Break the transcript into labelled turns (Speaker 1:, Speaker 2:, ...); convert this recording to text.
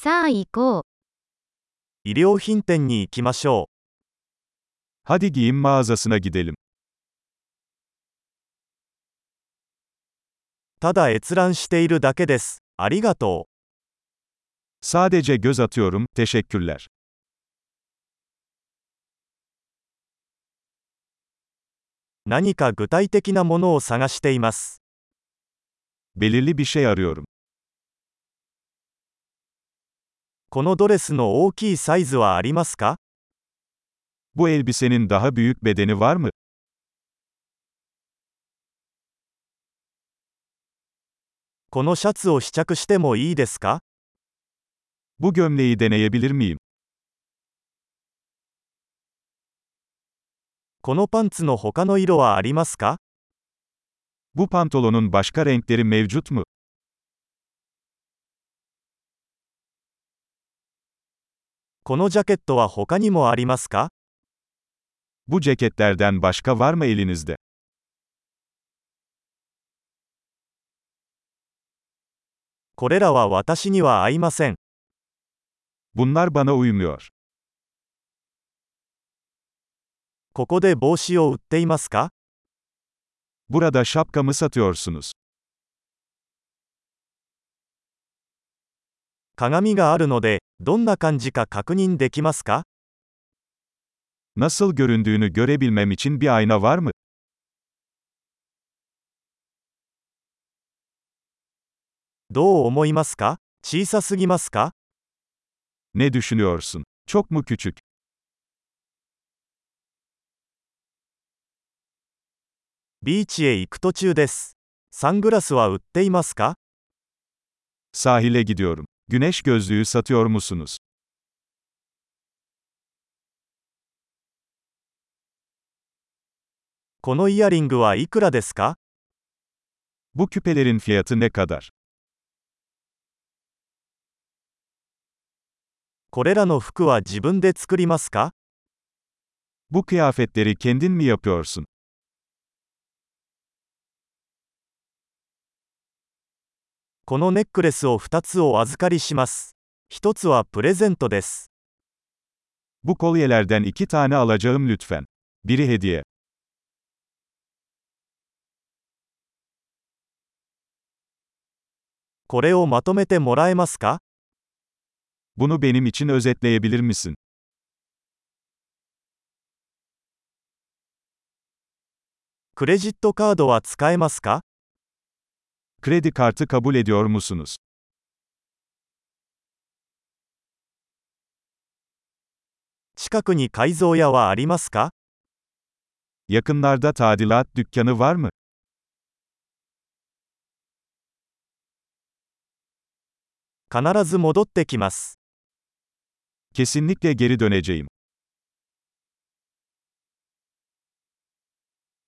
Speaker 1: さあ行こう。
Speaker 2: 衣料品店に行きましょ
Speaker 3: Hadi giyim mağazasına gidelim.
Speaker 2: う。ただ閲覧しているだけです。ありがと
Speaker 3: Sadece göz atıyorum, teşekkürler.
Speaker 2: う。何か具体的なものを探しています。
Speaker 3: Belirli bir şey arıyorum.
Speaker 2: このドレスの大きいサイズはありますか？
Speaker 3: Bu elbisenin daha büyük bedeni var mı?
Speaker 2: このシャツを試着してもいいですか？
Speaker 3: Bu gömleği deneyebilir miyim?
Speaker 2: このパンツの他の色はありますか？
Speaker 3: Bu pantolonun başka renkleri mevcut mu?
Speaker 2: このジャケットは他にもありますか？
Speaker 3: Bu ceketlerden başka var mı elinizde?
Speaker 2: これらは私には合いません。
Speaker 3: Bunlar bana uymuyor.
Speaker 2: ここで帽子を売っていますか？
Speaker 3: Burada şapka mı satıyorsunuz?
Speaker 2: 鏡があるので、どんな感じか確認できますか？
Speaker 3: Nasıl göründüğünü görebilmem için bir ayna var mı?
Speaker 2: どう思いますか？小さすぎますか？
Speaker 3: Ne düşünüyorsun? Çok mu küçük?
Speaker 2: ビーチへ行く途中です。サングラスは売っていますか？
Speaker 3: Sahile gidiyorum. Güneş gözlüğü satıyor musunuz?
Speaker 2: このイヤリングはいくらですか？
Speaker 3: Bu küpelerin fiyatı ne kadar?
Speaker 2: これらの服は自分で作りますか？
Speaker 3: Bu kıyafetleri kendin mi yapıyorsun?
Speaker 2: このネックレスを2つお預かりします。1つはプレゼントです。
Speaker 3: Bu kolyelerden 2 tane alacağım lütfen. Biri hediye.
Speaker 2: これをまとめてもらえますか？
Speaker 3: Bunu benim için özetleyebilir misin?
Speaker 2: クレジットカードは使えますか？
Speaker 3: Kredi kartı kabul ediyor musunuz?
Speaker 2: 近くに改造屋はありますか？
Speaker 3: Yakınlarda tadilat dükkanı var mı?
Speaker 2: 必ず戻ってきます。
Speaker 3: Kesinlikle geri döneceğim.